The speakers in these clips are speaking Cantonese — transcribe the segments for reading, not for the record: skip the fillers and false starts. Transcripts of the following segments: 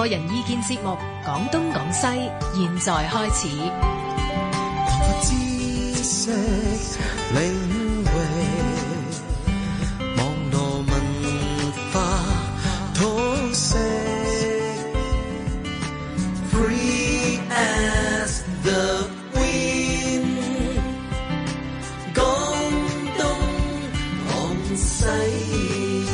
個人意見節目《講東講西》，現在開始。 知識領域，網絡文化通識 ，Free as the wind， 講東講西。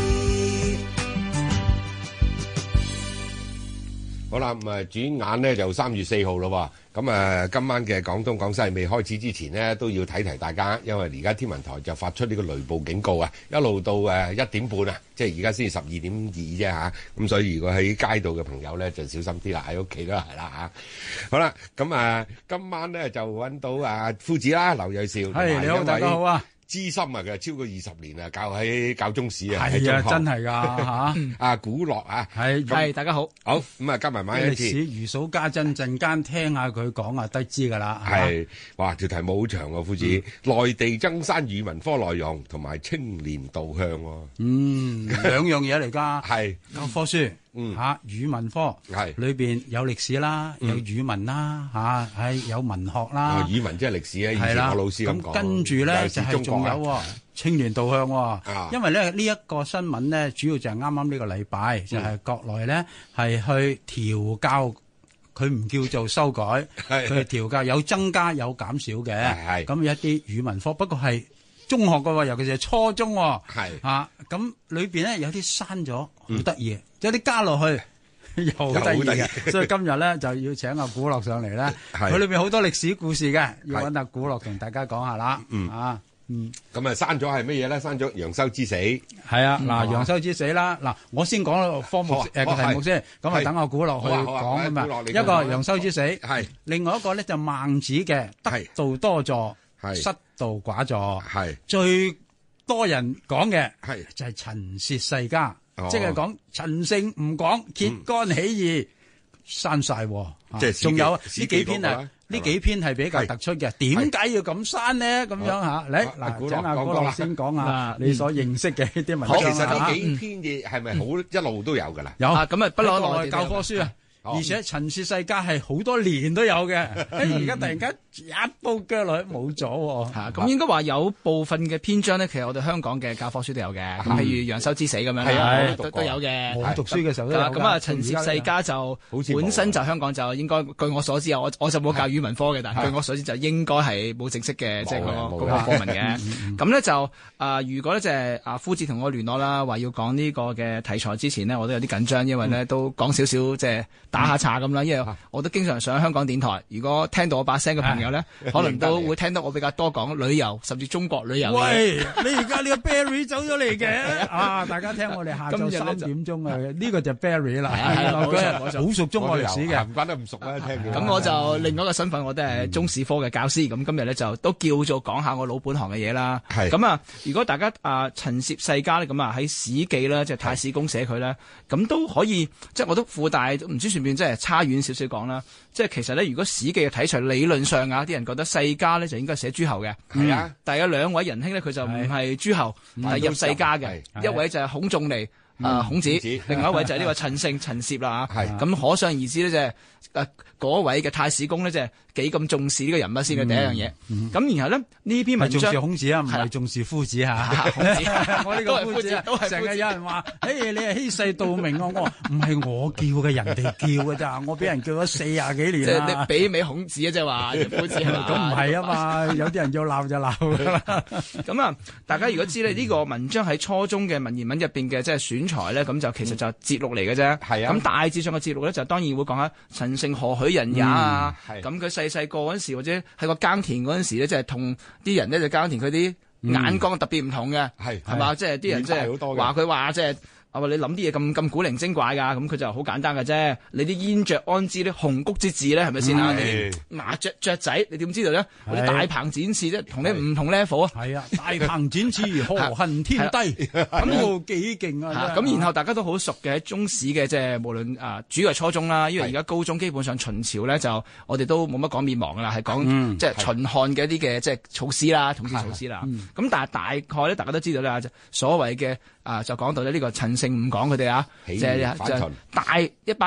好啦，咁轉眼咧就3月4號咯喎，咁今晚嘅廣東廣西未開始之前呢，都要提提大家，因為而家天文台就發出呢個雷暴警告啊，一路到1點半啊，即係而家先至12.2啫嚇，咁所以如果喺街道嘅朋友咧就小心啲啦，喺屋企都係啦嚇。好啦，咁今晚咧就揾到夫子啦，劉銳紹， 係你好，大家好啊！ 資深啊，佢超過20年啊，教中史啊， 係啊，真係㗎嚇！ 古樂啊， 係大家好， 好咁啊，加埋一次歷史如數家珍，陣間聽下佢講啊，得知㗎啦。 係，哇，條題目好長啊，夫子，內地增刪語文科內容同埋青年導向喎。 兩樣嘢嚟㗎。 係教科書。語文科係裏邊有歷史啦，有語文啦，有文學啦。 語文即係歷史啊，以前我老師咁講。 咁跟住咧就係仲有青年導向，因為咧呢一個新聞咧，主要就係啱啱呢個禮拜就係國內咧係去調教，佢唔叫做修改，佢係調教，有增加有減少嘅。咁一啲語文科，不過係中學嘅，尤其是係初中。咁裏邊咧有啲刪咗，好得意。有啲加落去又好得意嘅，所以今日咧就要請阿古樂上嚟咧。佢裏邊好多歷史故事嘅，要揾阿古樂同大家講下啦。 咁刪咗係乜嘢咧？刪咗楊修之死。係啊，嗱，楊修之死啦。嗱，我先講科目個題目先，咁啊等阿古樂去講啊嘛。一個楊修之死，係另外一個咧就孟子嘅得道多助，失道寡助，係最多人講嘅係就係陳涉世家。即係講陳勝吳廣揭竿起義刪晒，即係仲有呢幾篇呢幾篇係比較突出嘅。點解要咁刪呢？咁樣嚇，嚟嗱，請阿古樂先講下你所認識嘅呢啲文章。 其實呢幾篇嘢係咪好一路都有㗎啦？ 有咁啊，不嬲內教科書啊。而且陳涉世家係好多年都有嘅，而家突然間一刀腳落去冇咗。 咁應該話有部分嘅篇章咧，其實我哋香港嘅教科書都有嘅。咁譬如楊修之死咁樣都有嘅。 我讀書嘅時候都有。 咁啊，陳涉世家就本身就香港就應該據我所知啊，我就冇教語文科嘅，但係據我所知就應該係冇正式嘅即係嗰個科文嘅。咁咧就如果咧就係夫子同我聯絡啦，話要講呢個嘅題材之前呢，我都有啲緊張，因為咧都講少少即係打下岔咁啦，因為我都經常上香港電台，如果聽到我把聲嘅朋友咧，可能都會聽到我比較多講旅遊，甚至中國旅遊。 喂，你而家呢個 Barry 走咗嚟嘅大家聽我哋下晝3點鐘啊，呢個就 Barry 啦，好熟中國歷史嘅， 唔關得咁熟啦，聽嘅。 咁我就另外一個身份，我都係中史科嘅教師，咁今日咧就都叫做講下我老本行嘅嘢啦。咁啊，如果大家陳涉世家咧，咁啊喺《史記》咧，即係太史公寫佢咧，咁都可以，即係我都附帶，唔知算唔算即係差遠少少講啦。即係其實咧，如果《史記》嘅題材理論上啲人覺得世家咧就應該寫諸侯嘅。係啊，但係有兩位仁兄咧，佢就唔係諸侯，係入世家嘅。一位就係孔仲尼，孔子，另外一位就係呢個陳勝陳涉啦。咁可想而知咧，就係嗰位嘅太史公咧，就係幾咁重視呢個人物先嘅第一樣嘢。咁然後咧呢篇文章重視孔子啊，唔係重視夫子嚇。孔子，我呢個夫子都係成日有人話，你係欺世盜名啊！我話唔係我叫嘅，人哋叫嘅咋，我俾人叫咗40幾年啦。 即係你媲美孔子啊，即係話夫子係嘛？ 咁唔係啊嘛，有啲人要鬧就鬧㗎啦。 咁啊，大家如果知咧呢個文章喺初中嘅文言文入邊嘅即係選材咧，咁就其實就節錄嚟嘅啫。係啊。咁大致上嘅節錄咧，就當然會講下陳勝何許人也啊。咁佢細個嗰陣時，或者喺個耕田嗰陣時咧，即係同啲人咧就耕田，佢啲眼光特別唔同嘅，係嘛？即係啲人即係話佢話即係。你諗啲嘢咁古靈精怪㗎，咁佢就好簡單嘅啫。你啲煙雀安知啲鴻鵠之志咧，係咪先啊？麻雀仔，你點知道咧？嗰啲大鵬展翅啫，同你唔同 level 啊。係啊，大鵬展翅，何恨天低？咁幾勁啊！咁然後大家都好熟嘅喺中史嘅，即係無論主要係初中啦，因為而家高中基本上秦朝咧就我哋都冇乜講滅亡㗎啦，係講即係秦漢嘅一啲嘅即係措施啦，統治措施啦。咁但係大概咧，大家都知道咧，所謂嘅就講到咧呢個陳勝吳廣佢哋就帶一班人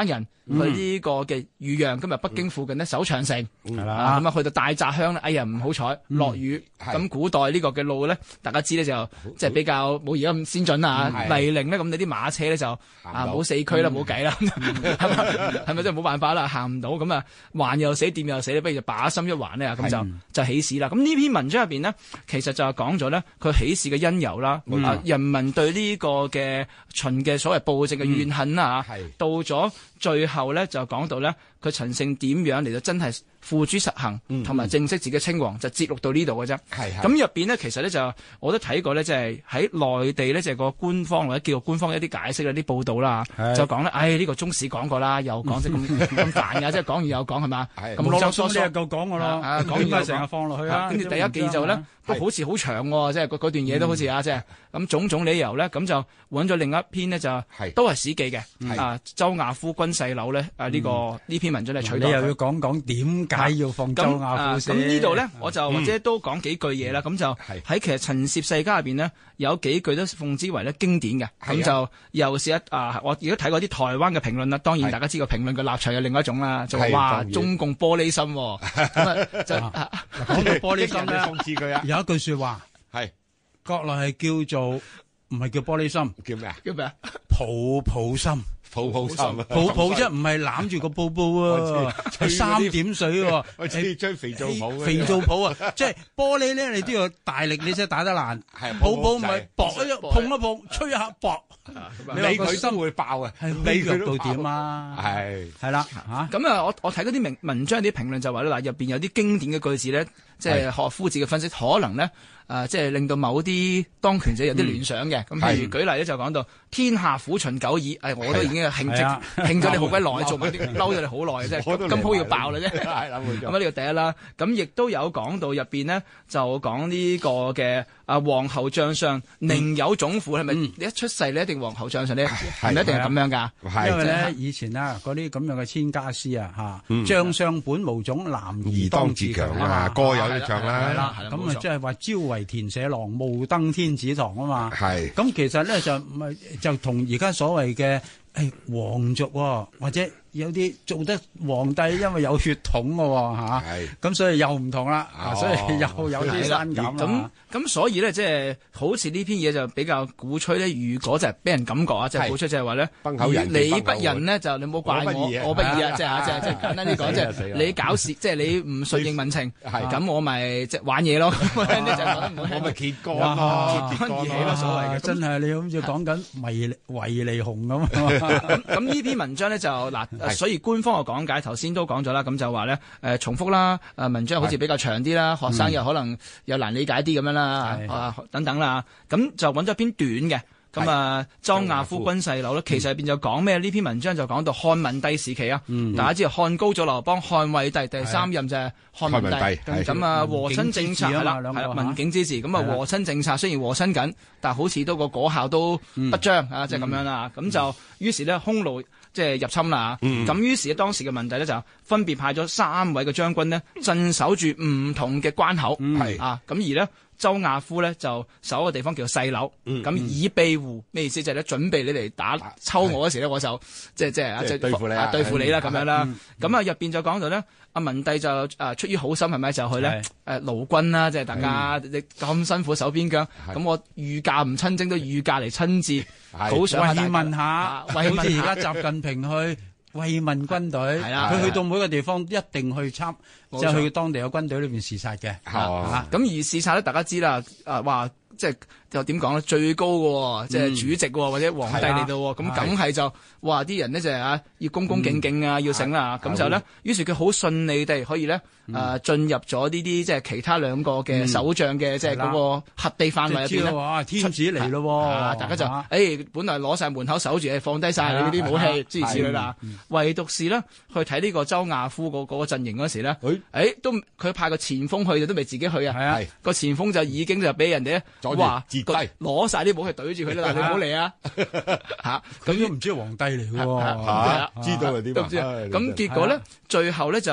去呢個嘅豫陽，今日北京附近呢守長城， 係啦， 咁啊去到大澤鄉咧，哎呀唔好彩落雨，咁古代呢個嘅路咧，大家知咧就即係比較冇而家咁先進啊，泥濘咧，咁你啲馬車咧就冇四驅啦，冇計啦，係咪真係冇辦法啦，行唔到，咁啊環又死，掂又死，不如就把心一橫咧，咁就起事啦。咁呢篇文章入邊呢，其實就係講咗咧佢起事嘅因由啦，人民對呢個嘅秦嘅所謂暴政嘅怨恨啊，到咗最後咧就講到咧佢陳勝點樣嚟到真係付諸實行，同埋正式自己稱王，就節錄到呢度嘅啫。咁入邊呢，其實咧就我都睇過咧，即係喺內地咧，就係個官方或者叫做官方一啲解釋啦，啲報道啦，就講咧，呢個中史講過啦，又講即係咁煩㗎，即係講完又講係嘛？咁囉囉嗦嗦夠講㗎咯，講完又成日放落去啦。跟住第一記就咧，都好似好長喎，即係嗰段嘢都好似即係咁種種理由咧，咁就揾咗另一篇呢，就都係史記嘅，周亞夫軍勢樓咧，呢篇文章嚟取代。你又要講點解要放周亞夫先？咁呢度咧，我就或者都講幾句嘢啦。咁就喺其實陳涉世家入邊呢，有幾句都奉之為咧經典嘅。咁就又是我亦都睇過啲台灣嘅評論啦。當然大家知個評論嘅立場有另一種啦，就話中共玻璃心。咁就講到玻璃心咧，諷刺佢啊！ 有一句說話係國內係叫做唔係叫玻璃心， 叫咩啊？ 叫咩啊？ 抱抱心。抱抱心， 抱抱啫，唔係攬住個布布喎，係3點水喎， 係將肥皂泡， 肥皂泡啊，即係玻璃咧，你都要大力，你先打得爛。抱抱唔係搏一碰一碰，吹一下搏， 你佢心會爆啊， 係弱到點啊？係啦嚇。 咁啊，我睇嗰啲文章啲評論就話咧，嗱入邊有啲經典嘅句子咧，即係學夫子嘅分析，可能咧即係令到某啲當權者有啲聯想嘅。咁譬如舉例咧，就講到天下苦秦久矣，我都已經興咗你好鬼耐，做埋啲嬲咗你好耐嘅啫，今鋪要爆啦啫。咁啊呢個第一啦，咁亦都有講到入邊呢，就講呢個嘅皇后將相寧有種乎，係咪你一出世你一定皇后將相呢？係咪一定係咁樣㗎？ 因為咧以前啊嗰啲咁樣嘅千家詩啊嚇，將相本無種，男兒當自強啊嘛， 歌有得唱啦。 係啦，咁啊即係話朝為田舍郎，暮登天子堂啊嘛。 係。 咁其實咧就同而家所謂嘅皇族或者有啲做得皇帝，因為有血統嘅嚇，咁所以又唔同啦，所以又有啲刪減啦。 咁所以咧，即係好似呢篇嘢就比較鼓吹咧。如果就係俾人感覺啊，即係鼓吹就係話咧，你不仁呢，就你唔好怪我不義啊，即係簡單啲講，即係你搞事，即係你唔順應民情，咁我咪即係玩嘢咯。 我咪揭竿咯，揭竿咯，所謂嘅。 真係你好似講緊維尼熊咁。 咁呢篇文章咧就嗱，所以官方嘅講解頭先都講咗啦，咁就話咧重複啦，文章好似比較長啲啦，學生又可能又難理解啲咁樣啦，等等啦，咁就揾咗篇短嘅，咁周亞夫軍勢樓咧，其實入邊就講咩？呢篇文章就講到漢文帝時期啊，大家知道漢高祖劉邦，漢惠帝第3任就係漢文帝，咁和親政策係啦，文景之治，咁和親政策雖然和親緊，但係好似都個果效都不彰啊，即係咁樣啦，咁就於是咧匈奴即係入侵啦，咁於是當時嘅文帝咧就分別派咗3位嘅將軍呢，鎮守住唔同嘅關口，咁而呢，周亞夫咧就守個地方叫做細樓，咁以備胡，咩意思？就係咧準備你嚟抽我嗰時咧，我就即係對付你啦，咁樣啦。咁入邊就講到咧，阿文帝就出於好心係咪就去咧勞軍啦，即係大家你咁辛苦守邊疆，咁我御駕唔親征都御駕嚟親自好想慰問下，好似而家習近平去慰問軍隊，佢去到每個地方一定去參，即係去當地嘅軍隊裏邊視察嘅。 咁而視察咧，大家知啦，話即係又點講咧？最高嘅即係主席或者皇帝嚟到，咁梗係就話啲人呢，就係要恭恭敬敬啊，要醒啦。咁就咧，於是佢好順利地可以咧進入咗呢啲即係其他2個嘅首將嘅即係嗰個核地範圍入邊咧。 天子嚟咯， 大家就本來攞晒門口守住，放低晒你嗰啲武器諸如此類啦。唯獨是咧去睇呢個周亞夫嗰個陣營嗰時咧，都佢派個前鋒去都未自己去啊。個前鋒就已經就俾人哋咧話攞晒啲武器對住佢啦，你唔好嚟啊！ 咁都唔知係皇帝嚟嘅喎， 知道係點？ 咁結果咧，最後咧就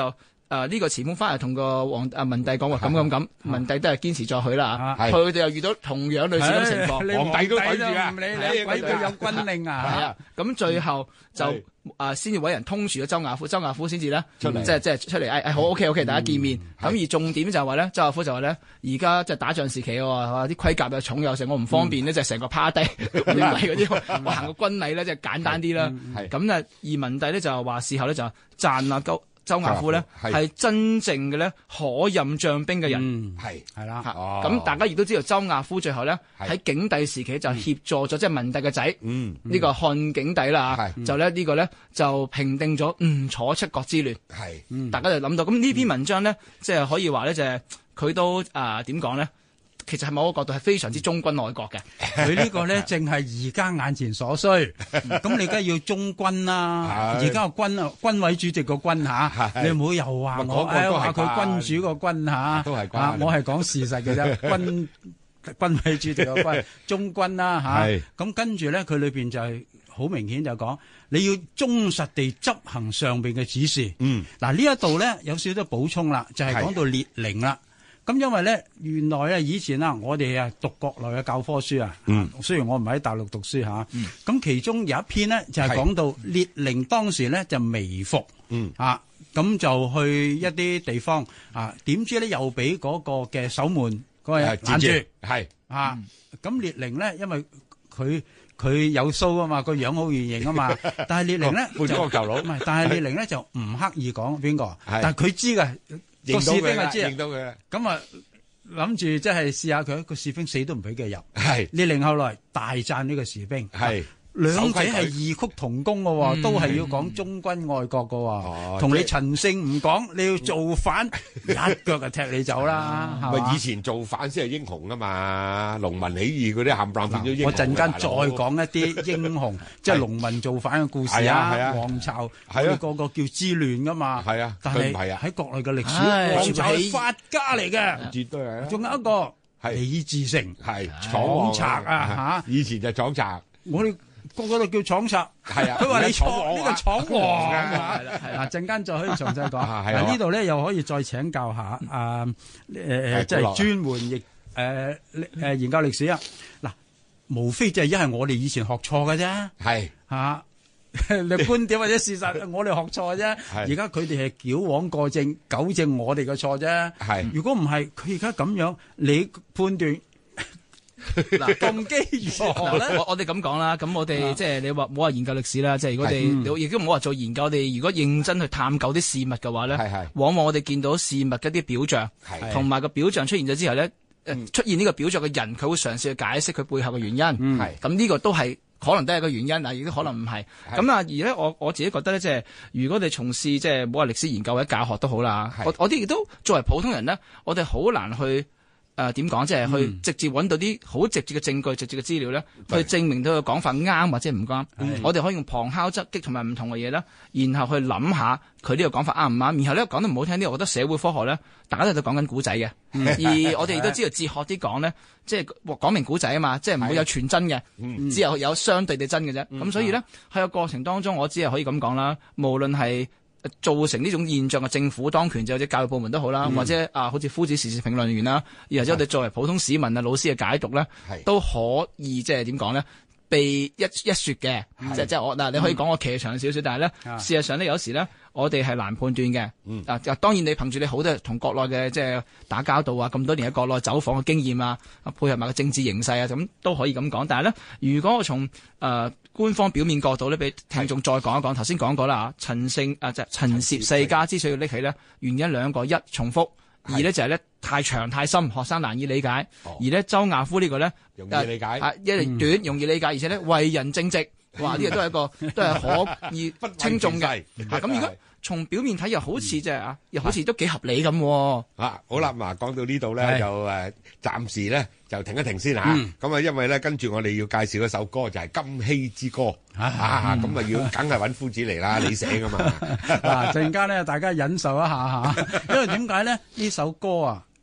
呢個前鋒翻嚟同個文帝講話咁，文帝都係堅持咗佢啦。佢哋又遇到同樣類似咁情況， 皇帝都睇住啊， 唔理你鬼佢有軍令啊。 係啊，咁最後就先至揾人通傳咗周亞夫，周亞夫先至咧出嚟，即係出嚟好 OK， 大家見面。咁而重點就係話咧，周亞夫就話咧，而家即係打仗時期喎，啲盔甲又重又成，我唔方便呢，就成個趴低，嗰啲我行個軍禮咧，即係簡單啲啦。咁咧，而文帝咧就話事後咧就讚啊周亞夫咧係真正嘅咧可任將兵嘅人， 係啦。 咁大家亦都知道周亞夫最後咧喺景帝時期就協助咗即係文帝嘅仔，呢個漢景帝啦，就咧呢個咧就平定咗吳楚七國之亂。大家就諗到咁呢篇文章咧，即係可以話咧就係佢都點講咧？其實係某個角度係非常之忠君愛國嘅。 佢呢個咧正係而家眼前所需。咁你梗係要忠君啦。而家個君啊，軍委主席個君嚇，你唔好又話我話佢君主個君嚇。都係關。我係講事實嘅啫。軍委主席個君，忠君啦嚇。咁跟住咧，佢裏邊就係好明顯就講，你要忠實地執行上邊嘅指示。嗱呢一度咧有少少補充啦，就係講到列寧啦。咁因為咧，原來咧以前我哋讀國內嘅教科書啊，雖然我唔喺大陸讀書嚇，咁其中有一篇呢，就係講到列寧當時咧就微服，咁就去一啲地方點知咧又俾嗰個嘅守門嗰個攔住，咁列寧咧因為佢有鬚啊嘛，個樣好圓形啊嘛，但係列寧咧就唔係，但係列寧咧就唔刻意講邊個，但係佢知嘅。個士兵係知啊，咁啊諗住即係試下佢，個士兵死都唔俾佢入。列寧後來大讚呢個士兵，兩者係異曲同工嘅喎，都係要講忠君愛國嘅喎。同你陳勝唔講，你要造反，一腳就踢你走啦。 咪以前造反先係英雄啊嘛，農民起義嗰啲冚唪唥變咗英雄。 我陣間再講一啲英雄，即係農民造反嘅故事啊。黃巢佢個個叫之亂噶嘛。但係喺國內嘅歷史，黃巢係法家嚟嘅，絕對係。仲有一個李自成，闖賊啊嚇！以前就闖賊，我哋。個個都叫闖賊，佢話你闖呢個闖王啊！嗱，陣間再可以詳細講。呢度咧又可以再請教下即係專門研究歷史啊！嗱，無非就係因為我哋以前學錯嘅啫，你觀點或者事實，我哋學錯啫。而家佢哋係矯枉過正，糾正我哋嘅錯啫。如果唔係，佢而家咁樣，你判斷？嗱，動機如何咧？ 我哋咁講啦，咁我哋即係你話唔好話研究歷史啦，即係如果你亦都唔好話做研究，我哋如果認真去探究啲事物嘅話咧，往往我哋見到事物嘅一啲表象，同埋個表象出現咗之後咧，出現呢個表象嘅人，佢會嘗試去解釋佢背後嘅原因。咁呢個都係可能都係個原因，但亦都可能唔係。咁而咧，我自己覺得咧，即係如果你從事即係唔好話歷史研究或者教學都好啦，我哋亦都作為普通人咧，我哋好難去。點講，即係去直接揾到啲好直接嘅證據、直接嘅資料咧，去證明到個講法啱或者唔啱。我哋可以用旁敲側擊同埋唔同嘅嘢啦，然後去諗下佢呢個講法啱唔啱。然後咧講得唔好聽啲，我覺得社會科學咧，大家都喺度講緊古仔嘅。而我哋亦都知道哲學啲講咧，即係講明古仔啊嘛，即係唔會有全真嘅，只有相對地真嘅啫。咁所以咧喺個過程當中，我只係可以咁講啦，無論係造成呢種現象嘅政府當權者或者教育部門都好啦，或者好似夫子時事評論員啦，或者我哋作為普通市民啊老師嘅解讀咧，都可以即係點講咧，被一說嘅，即係我你可以講我騎長少少，但係咧事實上咧有時咧我哋係難判斷嘅。當然你憑住你好多同國內嘅即係打交道啊，咁多年喺國內走訪嘅經驗啊，配合埋個政治形勢啊，咁都可以咁講。但係咧，如果我從官方表面角度咧，俾聽眾再講一講。頭先講過啦，陳涉世家之所以要拎起咧，原因兩個：一重複，二咧就係咧太長太深，學生難以理解；而咧周亞夫呢個咧容易理解， 一嚟短容易理解，而且咧為人正直，哇！呢個都係一個都係可以稱重嘅。咁如果從表面睇又好似即係又好似都幾合理咁。 好啦，嗱講到呢度咧，就暫時咧就停一停先嚇。咁因為咧跟住我哋要介紹一首歌，就係《金禧之歌》咁要梗係揾夫子嚟啦，你寫噶嘛。 嗱陣間咧，大家忍受一下嚇，因為點解咧呢首歌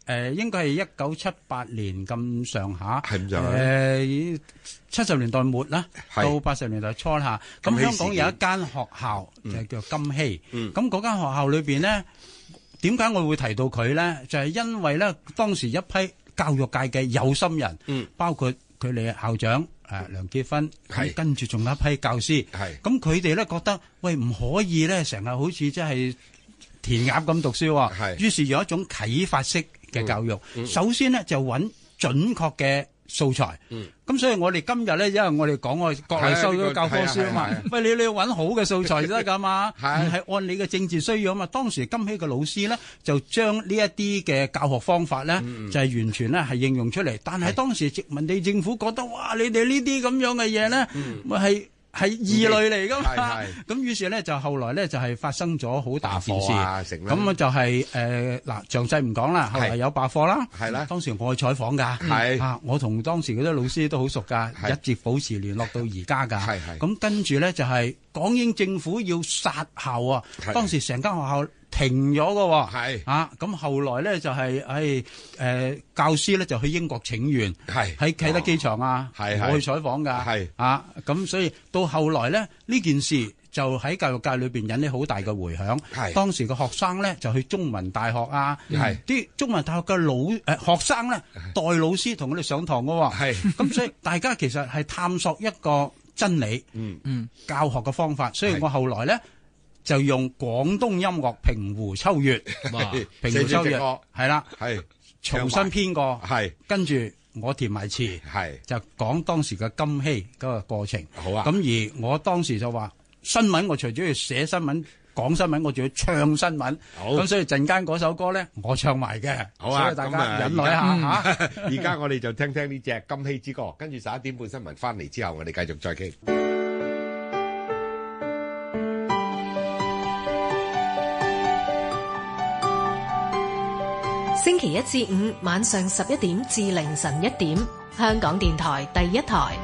應該係1978年咁上下， 係咁上下。 70年代末啦，到80年代初啦。咁香港有一間學校就叫金禧。咁嗰間學校裏邊呢，點解我會提到佢呢？就係因為呢，當時一批教育界嘅有心人，包括佢哋校長梁結芬，跟住仲有一批教師。咁佢哋呢覺得，喂，唔可以呢成日好似即係填鴨咁讀書喎。於是有一種啟發式嘅教育。首先呢，就揾準確嘅素材。咁所以我哋今日咧，因為我哋講我國內收咗教科書啊嘛，喂，你要揾好嘅素材先得噶嘛，而係按你嘅政治需要啊嘛。當時金禧嘅老師咧，就將呢一啲嘅教學方法咧，就係完全咧係應用出嚟。但係當時殖民地政府覺得，哇，你哋呢啲咁樣嘅嘢咧，咪係異類嚟噶嘛。咁於是咧就後來咧就係發生咗好大件事。咁就係嗱，詳細唔講啦。後來有罷課啦。係啦。當時我去採訪㗎。我同當時嗰啲老師都好熟㗎，一直保持聯絡到而家㗎。咁跟住咧就係港英政府要殺校啊！當時成間學校停咗㗎喎。咁後來咧就係教師咧就去英國請願，喺啟德機場我去採訪㗎。咁所以到後來咧呢件事就喺教育界裏邊引起好大嘅迴響。當時嘅學生咧就去中文大學啲中文大學嘅學生咧代老師同佢哋上堂㗎喎。咁所以大家其實係探索一個真理，教學嘅方法。所以我後來咧就用廣東音樂《平湖秋月》，平湖秋月係啦，重新編過，跟住我填埋詞，就講當時嘅金禧嗰個過程。好啊，咁而我當時就話新聞，我除咗要寫新聞、講新聞，我仲要唱新聞。咁所以陣間嗰首歌咧，我唱埋嘅。好啊，所以大家忍耐一下嚇。 而家我哋就聽聽呢隻《金禧之歌》，跟住11點半新聞翻嚟之後，我哋繼續再傾。 星期一至五晚上11點至凌晨1點，香港電台第一台。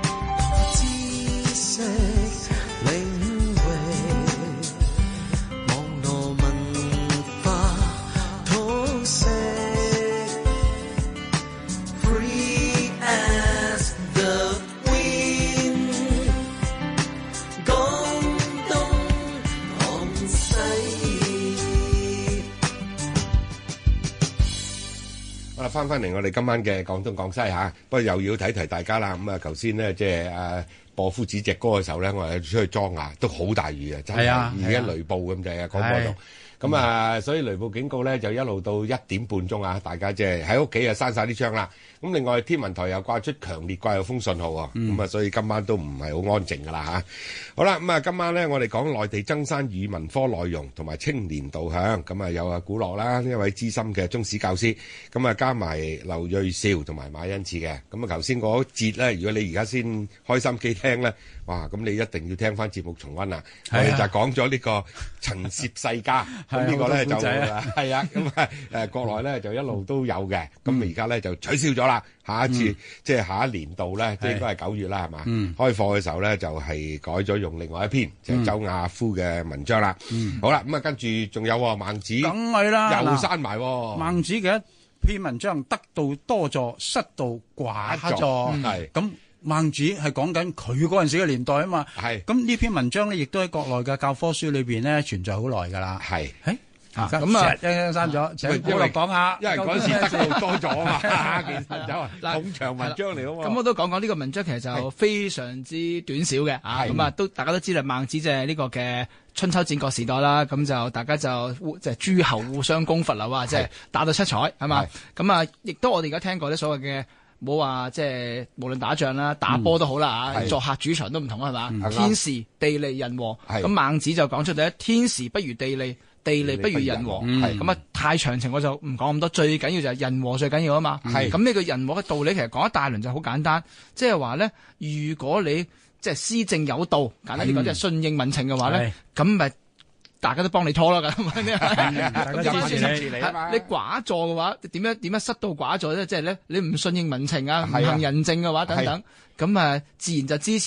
翻嚟我哋今晚嘅廣東廣西嚇，不過又要提提大家啦。咁啊，頭先呢，即係播夫子隻歌嘅時候咧，我哋出去裝牙都好大雨啊，真係而家雷暴咁滯啊，廣播度。咁啊，所以雷暴警告咧就一路到1點半鐘啊，大家即係喺屋企啊閂晒啲窗啦。咁另外天文台又掛出強烈季候風信號喎，咁啊所以今晚都唔係好安靜噶啦嚇。好啦，咁啊今晚咧我哋講內地增刪語文科內容同埋青年導向，咁啊有古樂啦，一位資深嘅中史教師，咁啊加埋劉銳紹同埋馬恩賜嘅。咁啊頭先嗰節咧，如果你而家先開心機聽咧，哇！咁你一定要聽翻節目重溫啦。我哋就講咗呢個陳涉世家，咁呢個咧就係啊，咁啊國內咧就一路都有嘅，咁而家咧就取消咗啦。下一次即係下一年度咧，即係應該係9月啦，係嘛？開課嘅時候咧就係改咗用另外一篇，就係周亞夫嘅文章啦。好啦，咁啊跟住仲有孟子， 梗係啦， 又刪埋孟子嘅一篇文章，得道多助，失道寡助，係咁。孟子係講緊佢嗰陣時嘅年代啊嘛，咁呢篇文章咧，亦都喺國內嘅教科書裏邊咧存在好耐噶啦。咁啊，刪咗，請保羅講下， 因為嗰時得道多咗啊嘛，其實就係好長文章嚟啊嘛。 咁我都講呢個文章其實就非常之短小嘅，咁啊都大家都知啦，孟子就係呢個嘅春秋戰國時代啦，咁就大家就即係諸侯互相攻伐啦，哇，即係打到七彩係嘛，咁啊亦都我哋而家聽過啲所謂嘅。冇話即係無論打仗啦、打波都好啦作客主場都唔同係嘛？天時地利人和，咁孟子就講出第一，天時不如地利，地利不如人和。咁啊太詳情我就唔講咁多，最緊要就係人和最緊要啊嘛。咁呢個人和嘅道理其實講一大輪就好簡單，即係話咧，如果你即係施政有道，簡單啲講即係順應民情嘅話咧，咁咪。大家都幫你拖啦，咁你寡助嘅話，點樣失道寡助咧？即係咧，你唔順應民情啊，唔行仁政嘅話，等等，咁啊，自然就支持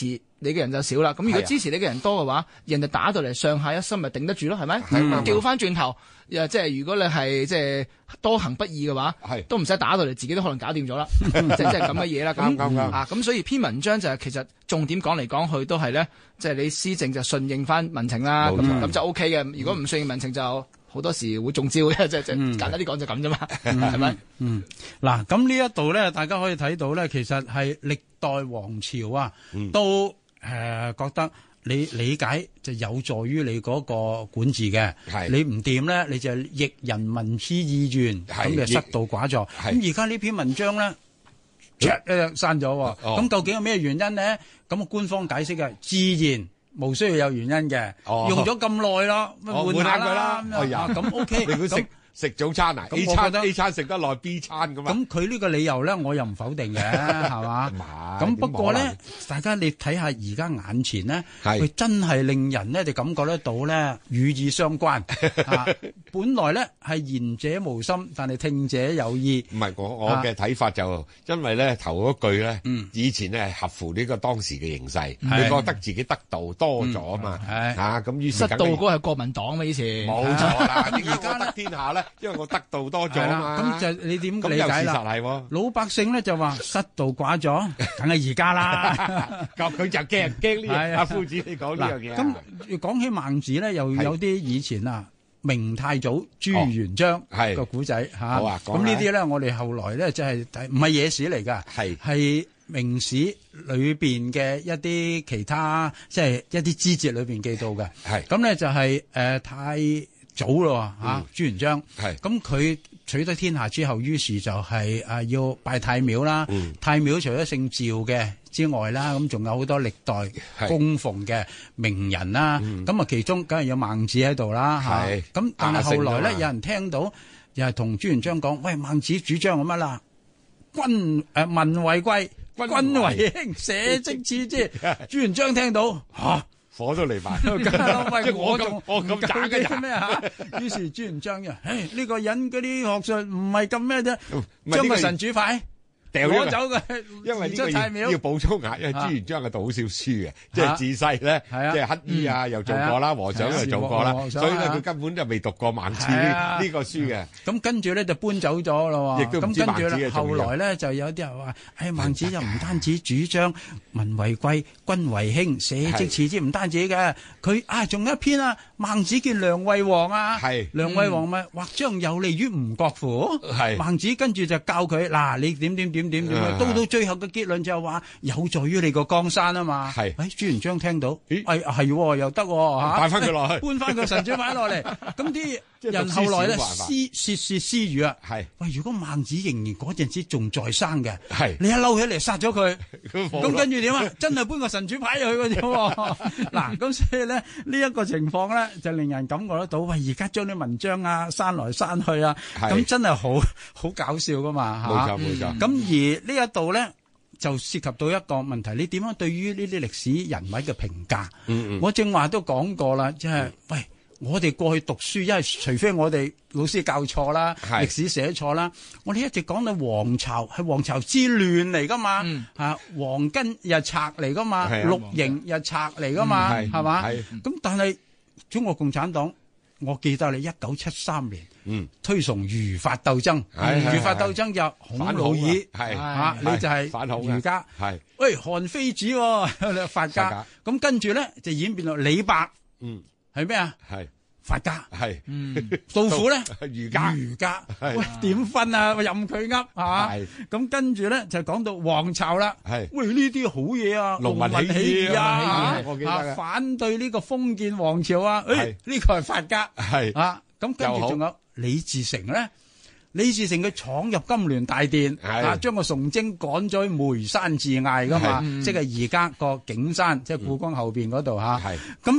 你嘅人就少啦。咁如果支持你嘅人多嘅話，人哋打到嚟上下一心咪頂得住咯，係咪？調翻轉頭，即係如果你係即係多行不義嘅話，都唔使打到嚟，自己都可能搞掂咗啦。即係咁嘅嘢啦。咁所以篇文章就係其實重點講嚟講去都係咧，即係你施政就順應翻民情啦。咁就 OK 嘅。如果唔順應民情就好多時會中招嘅，即係簡單啲講就咁啫嘛，係咪？ 嗱，咁呢一度咧，大家可以睇到咧，其實係歷代王朝啊，都覺得你理解就有助於你嗰個管治嘅。你唔掂咧，你就逆人民之意願，咁就失道寡助。咁而家呢篇文章咧，刪咗喎。咁究竟有咩原因呢？咁官方解釋嘅，自然冇需要有原因嘅，用咗咁耐啦，換下佢啦。咁 OK。你估食早餐啊？A 餐食得耐 ，B 餐咁啊？ 咁佢呢個理由咧，我又唔否定嘅，係嘛？咁不過咧，大家你睇下而家眼前呢，佢真係令人呢就感覺得到咧，語意相關。本來咧係言者無心，但係聽者有意。唔係我嘅睇法就，因為咧頭嗰句咧，以前咧係合乎呢個當時嘅形勢，佢覺得自己得道多咗啊嘛。咁於是失道嗰個係國民黨嘛，以前冇錯啦。而家得天下咧。因為我得道多咗嘛， 咁就你點理解啦？老百姓咧就話失道寡咗，梗係而家啦。 咁佢就驚呢樣。阿夫子你講呢樣嘢。 咁講起孟子咧，又有啲以前啊明太祖朱元璋個古仔嚇。好啊，咁呢啲咧，我哋後來咧即係唔係野史嚟㗎，係明史裏邊嘅一啲其他即係一啲枝節裏邊記到嘅。咁咧就係太早咯朱元璋，咁佢取得天下之後，於是就係要拜太廟啦。太廟除咗姓趙嘅之外啦，咁仲有好多歷代供奉嘅名人啦。咁其中梗係有孟子喺度啦。咁但係後來咧，有人聽到又係同朱元璋講：喂，孟子主張咁乜啦？民為貴，君為輕，社稷次之。朱元璋聽到火都嚟埋， 即係我咁渣嘅人咩嚇？於是朱元璋呢個人嗰啲學術唔係咁咩啫，將個神主牌攞走嘅， 因為呢個要補充下，因為朱元璋係讀好少書嘅，即係自細咧，即係乞衣又做過啦，和尚又做過啦，所以咧佢根本就未讀過孟子呢個書嘅。咁跟住咧就搬走咗咯喎。 亦都唔知孟子嘅重要。 後來咧就有啲人話：孟子又唔單止主張民為貴，君為輕，社稷次之，唔單止嘅，佢仲有一篇啊，孟子見梁惠王啊，梁惠王咪或將有利於吳國乎？孟子跟住就教佢嗱，你點。到最後嘅結論就係話有助於你個江山啊嘛。朱元璋聽到，係又得嚇， 擺翻佢落去， 搬翻個神主牌落嚟。咁啲人後來咧竊竊私語啊。喂，如果孟子仍然嗰陣時仲在生嘅，你一嬲起嚟殺咗佢，咁跟住點啊？真係搬個神主牌入去嘅啫。嗱，咁所以咧呢一個情況咧就令人感覺得到，喂，而家將啲文章刪來刪去啊，咁真係好搞笑噶嘛嚇。冇錯。咁而呢一度咧就涉及到一個問題，你點樣對於呢啲歷史人物嘅評價？我正話都講過啦，即係喂，我哋過去讀書，因為除非我哋老師教錯啦，歷史寫錯啦，我哋一直講到黃巢係黃巢之亂嚟噶嘛，黃巾又賊嚟噶嘛，綠營又賊嚟噶嘛，係嘛？咁但係中國共產黨，我記得你1973年推崇儒法鬥爭，儒法鬥爭就孔老二，你就係儒家，喂，韓非子法家，咁跟住咧就演變到李白，係咩啊？法家，杜甫咧儒家，喂，點分啊？任佢噏係咁跟住咧就講到黃巢啦，喂，呢啲好嘢啊，農民起義啊，我記得反對呢個封建王朝啊，呢個係法家，咁跟住仲有李自成咧，李自成佢闖入金鑾大殿，將個崇禎趕咗去梅山自艾噶嘛，即係而家個景山，即係故宮後邊嗰度吓，咁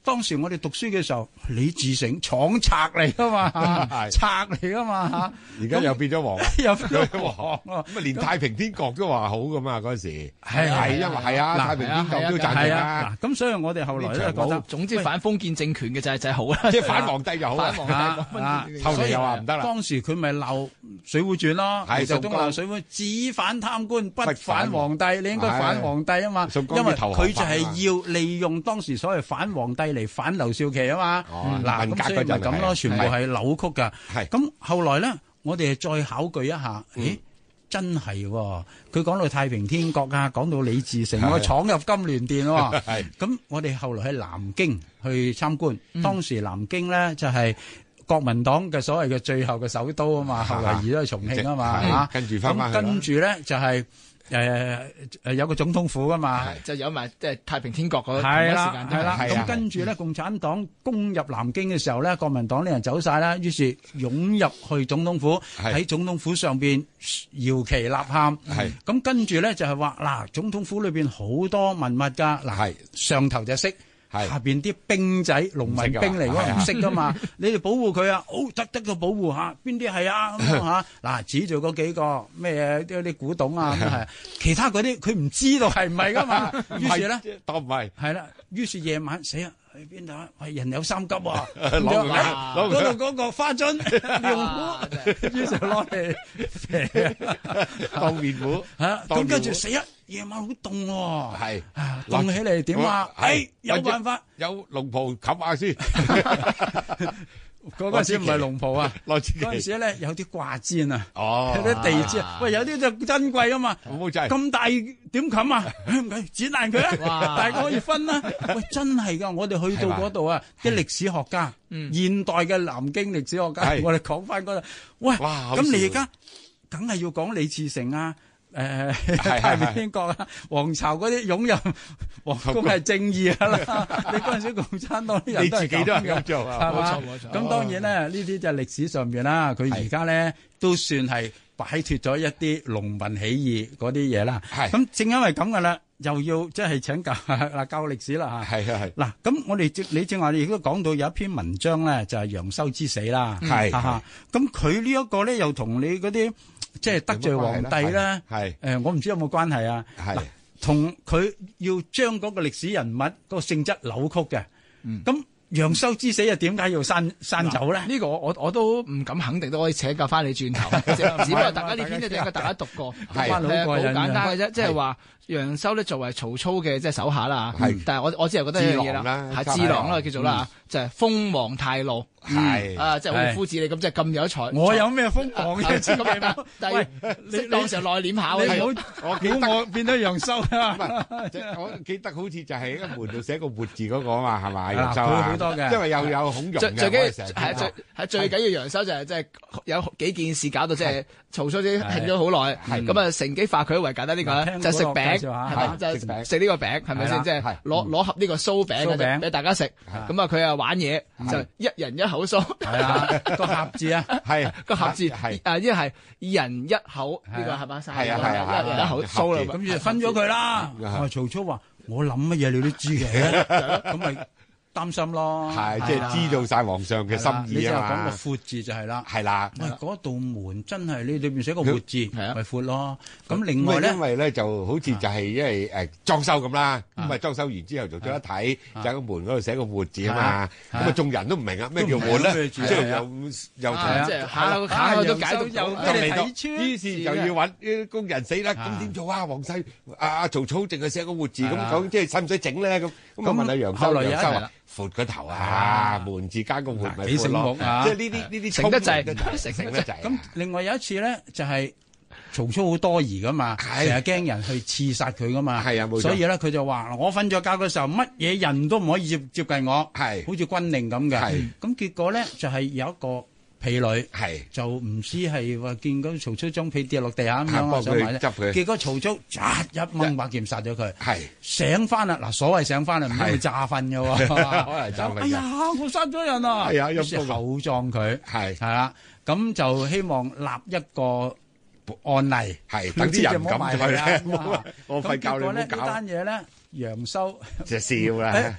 當時我哋讀書嘅時候，李自成闖賊嚟噶嘛，賊嚟噶嘛嚇。 而家又變咗王， 又變咗王咁啊，連太平天國都話好噶嘛嗰陣時。 係因為係啊，太平天國都贊成啊。 咁所以我哋後來咧覺得， 總之反封建政權嘅就係好啦， 即係反皇帝就好啦。 反皇帝， 後嚟又話唔得啦。 當時佢咪鬧《水滸傳》咯，就都鬧《水滸》，只反貪官不反皇帝，你應該反皇帝啊嘛，因為佢就係要利用當時所謂反皇帝嚟反劉少奇啊嘛。嗱，咁所以咪咁咯，全部係扭曲㗎。咁後來咧，我哋再考據一下，咦？真係喎，佢講到太平天國啊，講到李自成我闖入金鑾殿喎。咁我哋後來喺南京去參觀，當時南京咧就係國民黨嘅所謂嘅最後嘅首都啊嘛，後來移咗去重慶啊嘛嚇。 跟住翻返去， 跟住咧就係有個總統府噶嘛， 就有埋即係太平天國嗰時間。 係啦，咁跟住咧，共產黨攻入南京嘅時候咧，國民黨啲人走晒啦，於是湧入去總統府，喺總統府上邊搖旗吶喊。咁跟住咧就係話嗱，總統府裏邊好多文物㗎，嗱上頭就識。下邊啲兵仔農民兵嚟，我唔識噶嘛，你哋保護佢啊，好得個保護下，邊啲係啊咁嚇嗱，指住嗰幾個咩啲古董啊咁係，其他嗰啲佢唔知道係唔係噶嘛，於是咧當唔係係啦，於是夜晚死啊！去邊度啊？喂，人有三急喎， 攞嗰度嗰個花樽用壺，於是攞嚟當面壺嚇，咁跟住死啊！夜晚好凍喎，係凍起嚟點啊？有辦法， 有龍袍冚下先。 嗰陣時唔係龍袍啊，嗰陣時咧有啲掛氈啊，有啲地氈啊，喂，有啲就珍貴啊嘛，咁大點冚啊？唔緊，剪爛佢啊，大家可以分啦。喂，真係噶，我哋去到嗰度啊，啲歷史學家，現代嘅南京歷史學家，我哋講翻嗰度，喂，咁你而家梗係要講李自成啊？太平天國啊，皇朝嗰啲湧入皇宮係正義啊啦！你嗰陣時共產黨啲人都係自己都係咁做啊，冇錯。咁當然咧，呢啲就係歷史上邊啦。佢而家咧都算係擺脫咗一啲農民起義嗰啲嘢啦。咁正因為咁噶啦，又要即係請教教歷史啦嚇。係。嗱，咁我哋你正話亦都講到有一篇文章咧，就係楊修之死啦。係。咁佢呢一個咧，又同你嗰啲。即係得罪皇帝咧，我唔知有冇關係啊？同佢要將嗰個歷史人物嗰個性質扭曲嘅，咁楊修之死又點解要刪走咧？ 呢個我都唔敢肯定，都可以請教翻你轉頭。只不過大家呢篇咧，大家讀過，好簡單嘅啫，即係話。楊修咧作為曹操嘅即係手下啦，但係我只係覺得一樣嘢啦，係智囊啦叫做啦，就係鋒芒太露，係即係好似夫子你咁即係咁有才。 我有咩鋒芒嘅？ 但係你當時內斂下， 我變咗楊修啊！ 我記得好似就係喺個門度寫個活字嗰個啊嘛，係嘛？楊修佢好多嘅， 因為又有孔融嘅， 最緊要楊修就係即係有幾件事搞到即係曹操啲興咗好耐，咁啊乘機化佢為簡單呢個就食餅。係咪就食呢個餅？係咪先？即係攞盒呢個酥餅俾大家食。咁啊，佢啊玩嘢就一人一口酥。 係啊，個盒字啊， 係個盒字。係因為係二人一口呢個係嘛？係一人一口酥啦。 咁就分咗佢啦。曹操話：我諗乜嘢你都知嘅，咁咪。擔心咯， 係即係知道晒皇上嘅心意啊嘛。 你就講個闊字就係啦， 係啦。 喂，嗰道門真係你裏邊寫個闊字，咪闊咯。咁另外咧， 因為咧就好似就係因為裝修咁啦，咁啊裝修完之後做咗一睇，就喺個門嗰度寫個闊字啊嘛。咁啊眾人都唔明啊，咩叫門咧？即係又即係下都解讀又嚟到，於是就要揾啲工人死啦。咁點做啊？皇帝曹操淨係寫個闊字，咁講即係使唔使整咧？咁啊問下楊修，楊修話。闊個頭啊，門字加個門咪闊咯，即係呢啲成得滯， 成得滯。 咁另外有一次咧，就係曹操好多疑噶嘛，成日驚人去刺殺佢噶嘛，係啊，冇錯。所以咧佢就話：我瞓咗覺嘅時候，乜嘢人都唔可以接近我，係好似軍令咁嘅。係咁結果咧就係有一個婢女，係就唔知係話見到曹操張被跌落地下咁樣，想埋咧，結果曹操一掹把劍殺咗佢，係醒翻啦！嗱，所謂醒翻啦，唔係會詐瞓嘅喎，可能詐瞓。哎呀，我殺咗人啊！係啊，於是厚葬佢，係啦，咁就希望立一個案例，係等啲人唔敢佢啦。我費教你唔好搞。咁結果咧呢單嘢咧，楊修就笑啦。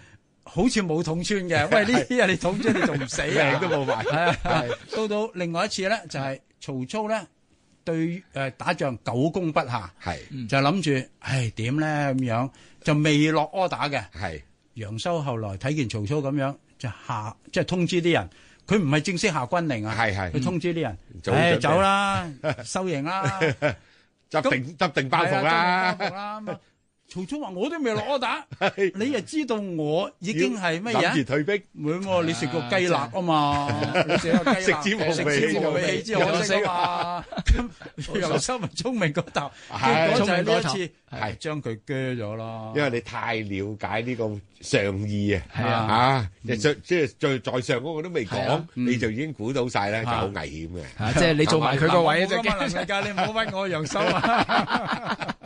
好似冇捅穿嘅。喂，呢啲你捅穿你仲唔死啊？ 命都冇埋。 係到另外一次咧，就係曹操咧對打仗久攻不下，就諗住點咧咁樣，就未落柯打嘅。楊修後來睇見曹操咁樣，就即係通知啲人。佢唔係正式下軍令啊，佢通知啲人，走啦，收營啦， 執定包袱啦。 曹操話：我都未落柯打，你又知道我已經係乜嘢？ 諗住退兵， 唔會，你食個雞肋啊嘛，你食個雞肋，食之無味，棄之可惜啊嘛。咁楊修咪聰明嗰頭，結果就係呢一次，將佢鋸咗咯。 因為你太了解呢個上意啊，即係在上嗰個都未講，你就已經估到晒咧，就好危險嘅。 即係你做埋佢個位啫。 你唔好屈我楊修啊！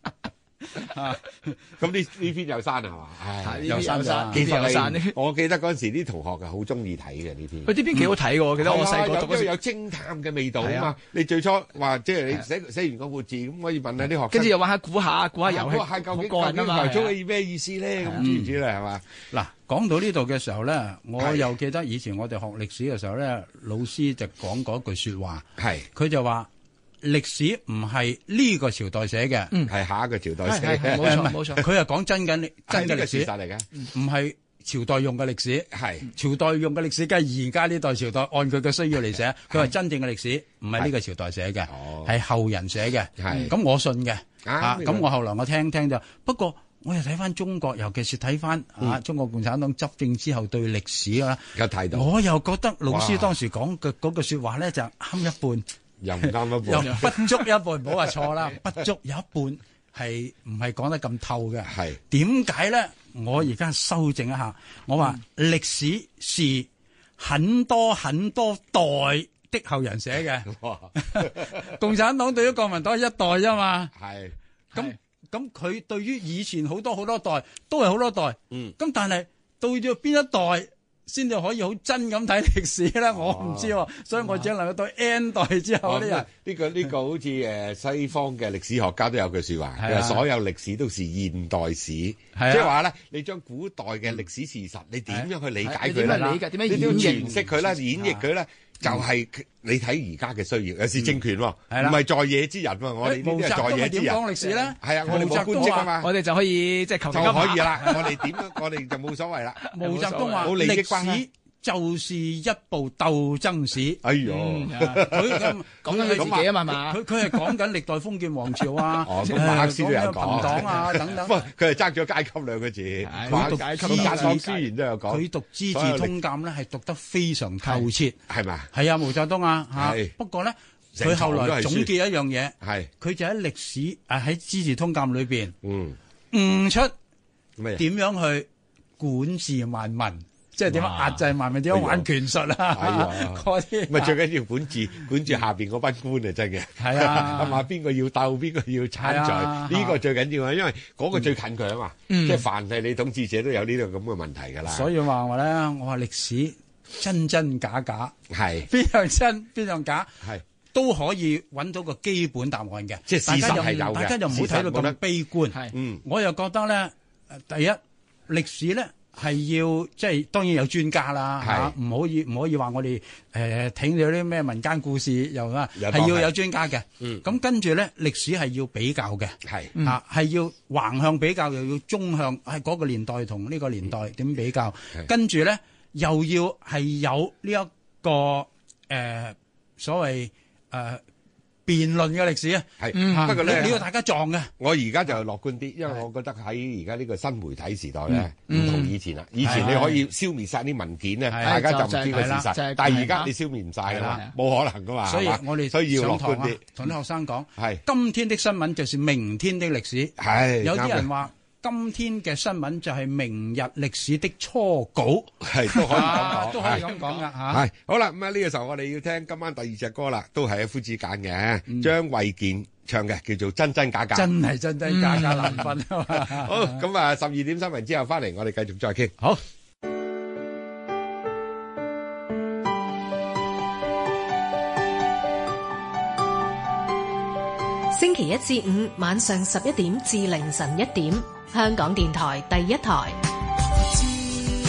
咁呢篇有山係嘛？ 有山。 其實我記得嗰陣時啲同學係好中意睇嘅呢篇。 佢呢篇幾好睇嘅，我記得我細個讀嗰時有偵探嘅味道啊嘛。你最初話即係你寫完個活字咁，可以問下啲學生， 跟住又玩下估下遊戲， 究竟個人啊嘛。 曹操嘅咩意思咧？咁知唔知咧？係嘛？ 嗱，講到呢度嘅時候咧，我又記得以前我哋學歷史嘅時候咧，老師就講過一句説話，佢就話。歷史唔係呢個朝代寫嘅， 係下一個朝代寫嘅。 冇錯。 佢係講真嘅歷史嚟嘅， 唔係朝代用嘅歷史。朝代用嘅歷史，梗係而家呢代朝代按佢嘅需要嚟寫。佢話真正嘅歷史唔係呢個朝代寫嘅，係後人寫嘅。咁我信嘅。咁我後來我聽咗，不過我又睇翻中國，尤其是睇翻中國共產黨執政之後對歷史啊，我又覺得老師當時講嘅嗰句説話咧就啱一半。 又唔啱一半， 又不足一半，唔好話錯啦，不足有一半係唔係講得咁透嘅？點解咧？我而家修正一下，我話歷史是很多很多代的後人寫嘅。共產黨對於國民黨係一代啫嘛。咁佢對於以前好多代都係好多代。咁但係到咗邊一代先至可以好真咁睇歷史咧，我唔知喎，所以我只能夠對 N 代之後啲人。 呢個好似西方嘅歷史學家都有句説話，佢話所有歷史都是現代史，即係話咧，你將古代嘅歷史事實，你點樣去理解佢啦？ 點樣詮釋佢啦，演繹佢咧，就係你睇而家嘅需要。有時政權喎，唔係在野之人喎，我哋呢啲係在野之人。 點講歷史咧？ 係啊，我哋冇官職啊嘛， 我哋就可以即係求其就可以啦。我哋點樣，我哋就冇所謂啦。 毛澤東話：歷史就是一部鬥爭史。 哎呦， 佢講緊佢自己啊嘛， 佢係講緊歷代封建王朝啊， 馬克思都有講朋黨啊等等。 不過佢係爭咗階級兩個字。 佢讀《資治通鑑》咧，係讀得非常透徹，係咪？係啊，毛澤東啊，不過咧，佢後來總結一樣嘢，佢就喺歷史喺《資治通鑑》裏邊，悟出點樣去管治萬民。即係點樣壓制萬民，點樣玩權術啊？嗰啲咪最緊要管住下邊嗰班官啊！真嘅係啊，咁話邊個要鬥，邊個要參在，呢個最緊要啊！因為嗰個最近佢啊嘛，即係凡係你統治者都有呢個咁嘅問題㗎啦。 所以話咧，我話歷史真真假假， 係邊樣真邊樣假，係都可以揾到個基本答案嘅。 即係事實係有嘅， 大家就唔好睇到咁悲觀。我又覺得咧，第一歷史咧。係要即係當然有專家啦嚇，唔可以話我哋聽咗啲咩民間故事又啊，係要有專家嘅。咁跟住咧，歷史係要比較嘅，係要橫向比較，又要縱向，係嗰個年代同呢個年代點比較。跟住咧，又要係有呢一個所謂辯論嘅歷史啊，不過咧，你要大家撞嘅。 我而家就樂觀啲，因為我覺得喺而家呢個新媒體時代咧，唔同以前啦。以前你可以消滅晒啲文件咧，大家就唔知個事實。但係而家你消滅唔晒㗎啦，冇可能噶嘛。 所以我哋需要樂觀啲， 同啲學生講，今天的新聞就是明天的歷史。係有啲人話。今天嘅新聞就係明日歷史的初稿， 係都可以咁講， 都可以咁講噶嚇。 係好啦，咁啊呢個時候我哋要聽今晚第二隻歌啦，都係阿夫子揀嘅，張衛健唱嘅，叫做真真假假。 真係真真假假難分啊嘛。 好，咁啊12點新聞之後翻嚟，我哋繼續再傾。 好。 星期一至五晚上11點至凌晨1點，香港電台第一台。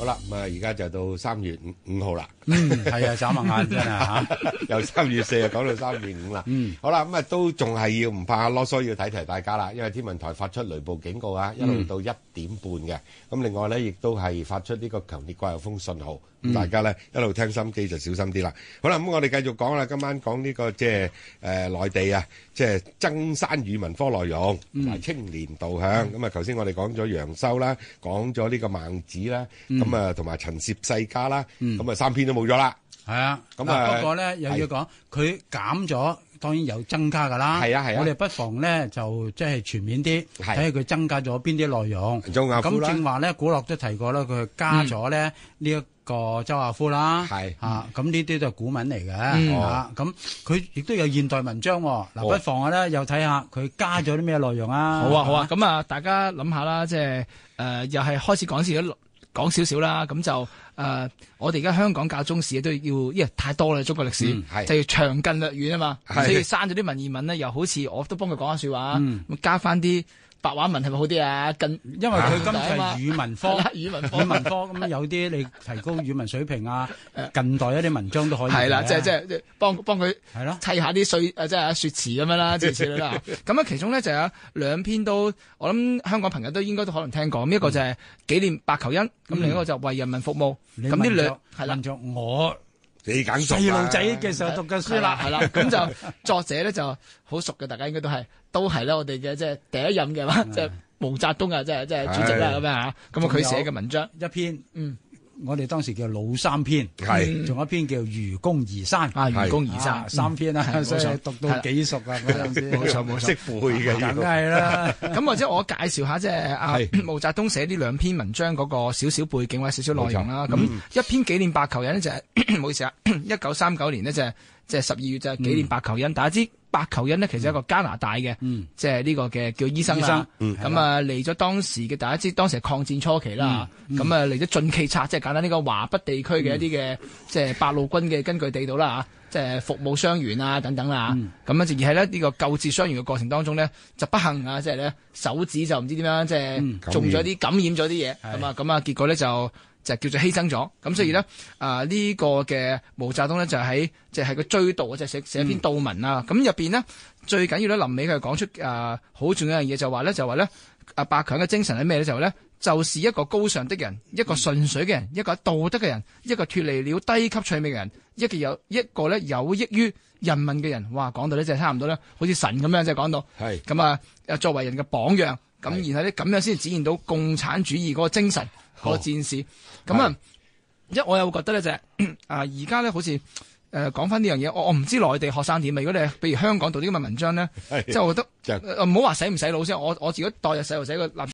好啦，咁而家就到3月5號啦。 係啊，眨下眼真係嚇， 由3月4講到3月5啦。好啦，咁都仲係要唔怕囉嗦，要提大家啦，因為天文台發出雷暴警告啊，一路到1點半嘅。咁另外咧，亦都係發出呢個強烈季候風信號。大家咧一路聽心機就小心啲啦。好啦，咁我哋繼續講啦。今晚講呢個即係內地啊，即係增刪語文科內容同埋青年導向。咁啊，頭先我哋講咗楊修啦，講咗呢個孟子啦，咁啊同埋陳涉世家啦，咁啊3篇都冇咗啦。係啊，咁啊不過咧又要講佢減咗。當然有增加㗎啦，係啊，我哋不妨咧就即係全面啲睇下佢增加咗邊啲內容。咁正話咧，古樂都提過啦，佢加咗咧呢一個周亞夫啦，咁呢啲都係古文嚟嘅，咁佢亦都有現代文章喎。嗱，不妨咧又睇下佢加咗啲咩內容啊。 好啊，咁啊，大家諗下啦，即係又係開始講少少啦，咁就我哋而家香港教中史都要，因為太多啦，中國歷史就要詳近略遠啊嘛，所以刪咗啲文言文咧，又好似我都幫佢講下説話，加翻啲白話文係咪好啲啊？ 因為佢今次係語文科， 語文科咁有啲你提高語文水平啊，近代一啲文章都可以。 係啦，即係幫佢砌下啲即係説詞咁樣啦，諸如此類啦。咁啊，其中咧就有2篇都，我諗香港朋友都應該都可能聽過。咁一個就係紀念白求恩，咁另一個就為人民服務。咁呢兩係啦，我你揀細路仔嘅時候讀嘅書啦， 係啦，咁就作者咧就好熟嘅，大家應該都係咧我哋嘅即係第一任嘅嘛，即係毛澤東啊，即係主席啦咁樣嚇。咁啊佢寫嘅文章一篇，我哋當時叫老3篇，仲有一篇叫愚公移山， 愚公移山 3篇啦，所以讀到幾熟啊嗰陣時， 冇錯， 識背嘅， 梗係啦。 咁或者我介紹下即係毛澤東寫呢2篇文章嗰個少少背景或者少少內容啦。咁一篇紀念白求恩呢就係唔好意思啊，1939年呢就係即係12月就係紀念白求恩。大家知白求恩呢其實係一個加拿大嘅，即係呢個嘅叫醫生啦。咁啊嚟咗當時嘅，大家知當時係抗戰初期啦。咁啊嚟咗晉冀察，即係簡單呢個華北地區嘅一啲嘅即係八路軍嘅根據地度啦，即係服務傷員啊等等啦。咁啊而係咧呢個救治傷員嘅過程當中呢，就不幸啊，即係咧手指就唔知點樣即係中咗啲感染咗啲嘢，咁啊結果咧就叫做犧牲咗。咁所以咧呢個嘅毛澤東咧就喺即係個追悼，即係寫一篇悼文啊。咁入邊呢，最緊要咧臨尾佢講出好重要一樣嘢，就話咧白強嘅精神係咩咧？就咧就是一個高尚的人，一個順水嘅人，一個道德嘅人，一個脫離了低級趣味嘅人，一個咧有益於人民嘅人。哇，講到咧即係差唔多咧，好似神咁樣，即係講到係咁啊，作為人嘅榜樣。咁然後咧咁樣先展現到共產主義嗰個精神，嗰個戰士。咁啊，我又覺得咧就係而家咧好似講翻呢樣嘢，我唔知內地學生點啊。如果你係譬如香港讀啲咁嘅文章咧，即係我覺得唔好話洗唔洗腦先。我自己代入細路仔個立